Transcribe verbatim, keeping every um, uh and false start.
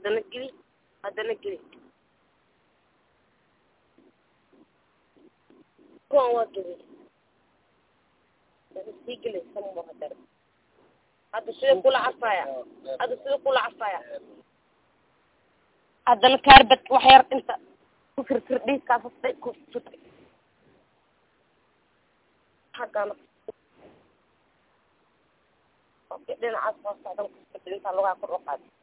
haddana geli haddana geli kuwan waa geli hadda sii geli sama hadar hadda sida kula cafaya hadda sida kula cafaya haddana kaarbad wax yar inta ku firfir dhiiskaas hastay ku firfir حقنا دينا عصفة صعدنا كنت لسه لغة كل وقت